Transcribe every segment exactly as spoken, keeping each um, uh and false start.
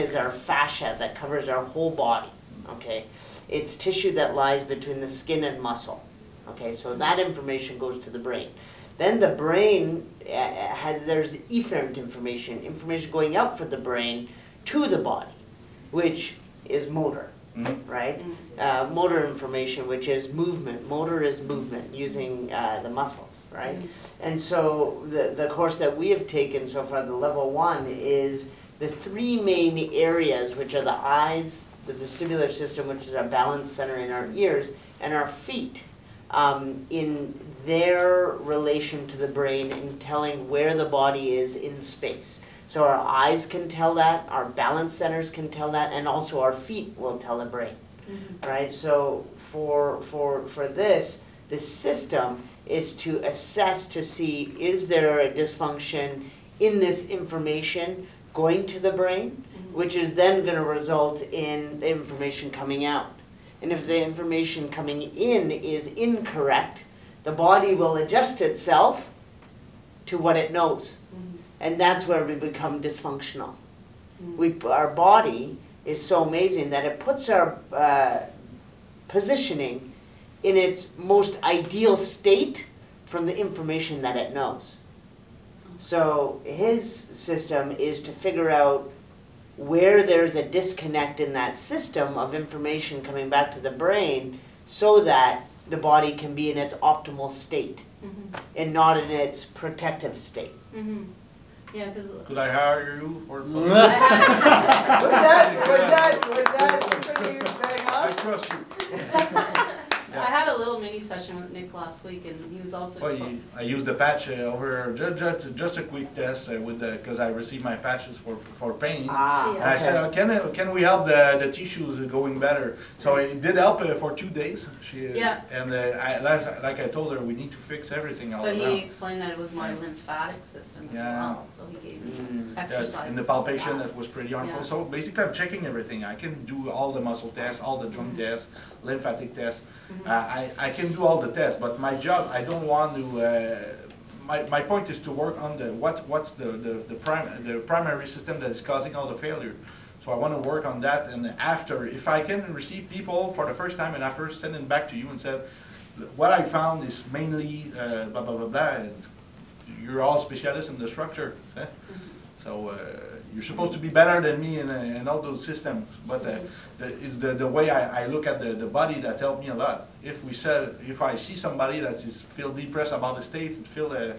is our fascia that covers our whole body, okay? It's tissue that lies between the skin and muscle, okay? So that information goes to the brain. Then the brain uh, has, there's efferent information, information going out from the brain to the body, which is motor, Mm-hmm. right? Uh, motor information, which is movement. Motor is movement using uh, the muscles, right? And so the, the course that we have taken so far, the level one, is the three main areas, which are the eyes, the vestibular system, which is our balance center in our ears, and our feet, um, in their relation to the brain in telling where the body is in space. So our eyes can tell that, our balance centers can tell that, and also our feet will tell the brain, mm-hmm. right? So for, for, for this, the system is to assess to see, is there a dysfunction in this information going to the brain, mm-hmm. which is then going to result in the information coming out. And if the information coming in is incorrect, the body will adjust itself to what it knows. Mm-hmm. And that's where we become dysfunctional. Mm-hmm. We, our body is so amazing that it puts our uh, positioning in its most ideal state from the information that it knows. So his system is to figure out where there's a disconnect in that system of information coming back to the brain so that the body can be in its optimal state, mm-hmm. and not in its protective state. Mm-hmm. Yeah, because Could I hire you for? was that, was that, was that pretty bang I up? trust you. I had a little mini session with Nick last week, and he was also. Well, expo- you, I used the patch uh, over just, just just a quick test uh, with the because I received my patches for for pain. Ah, And I said, okay. oh, can uh, can we help the the tissues going better? So it did help uh, for two days. She uh, Yeah. And uh, I like, like I told her, we need to fix everything all But he around. explained that it was my lymphatic system as Yeah. well, so he gave me Mm. Yes, exercises. and the palpation that was pretty harmful. Yeah. So basically, I'm checking everything. I can do all the muscle tests, all the joint Mm-hmm. tests, lymphatic tests. Mhm. Uh, I, I can do all the tests, but my job, I don't want to, uh, my, my point is to work on the, what, what's the, the, the, prim, the primary system that is causing all the failure. So I want to work on that, and after, if I can receive people for the first time and I first send it back to you and said, what I found is mainly uh, blah, blah, blah, blah, and you're all specialists in the structure. Eh? So uh, you're supposed to be better than me in, uh, in all those systems, but uh, the, it's the, the way I, I look at the, the body that helped me a lot. If we said, if I see somebody that is feel depressed about the state and feel uh,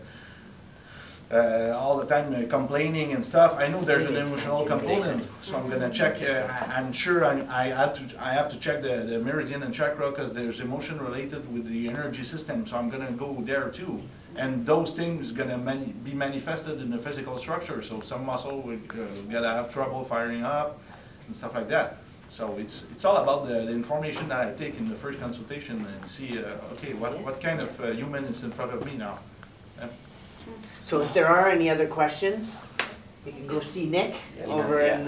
uh, all the time uh, complaining and stuff, I know there's an emotional component, so I'm gonna check. Uh, I, I'm sure I, I have to I have to check the, the meridian and chakra because there's emotion related with the energy system, so I'm gonna go there too. And those things gonna mani be manifested in the physical structure. So some muscle will uh, gonna have trouble firing up and stuff like that. So it's it's all about the, the information that I take in the first consultation and see, uh, okay, what what kind of uh, human is in front of me now. Yeah. So if there are any other questions, you can go see Nick over in the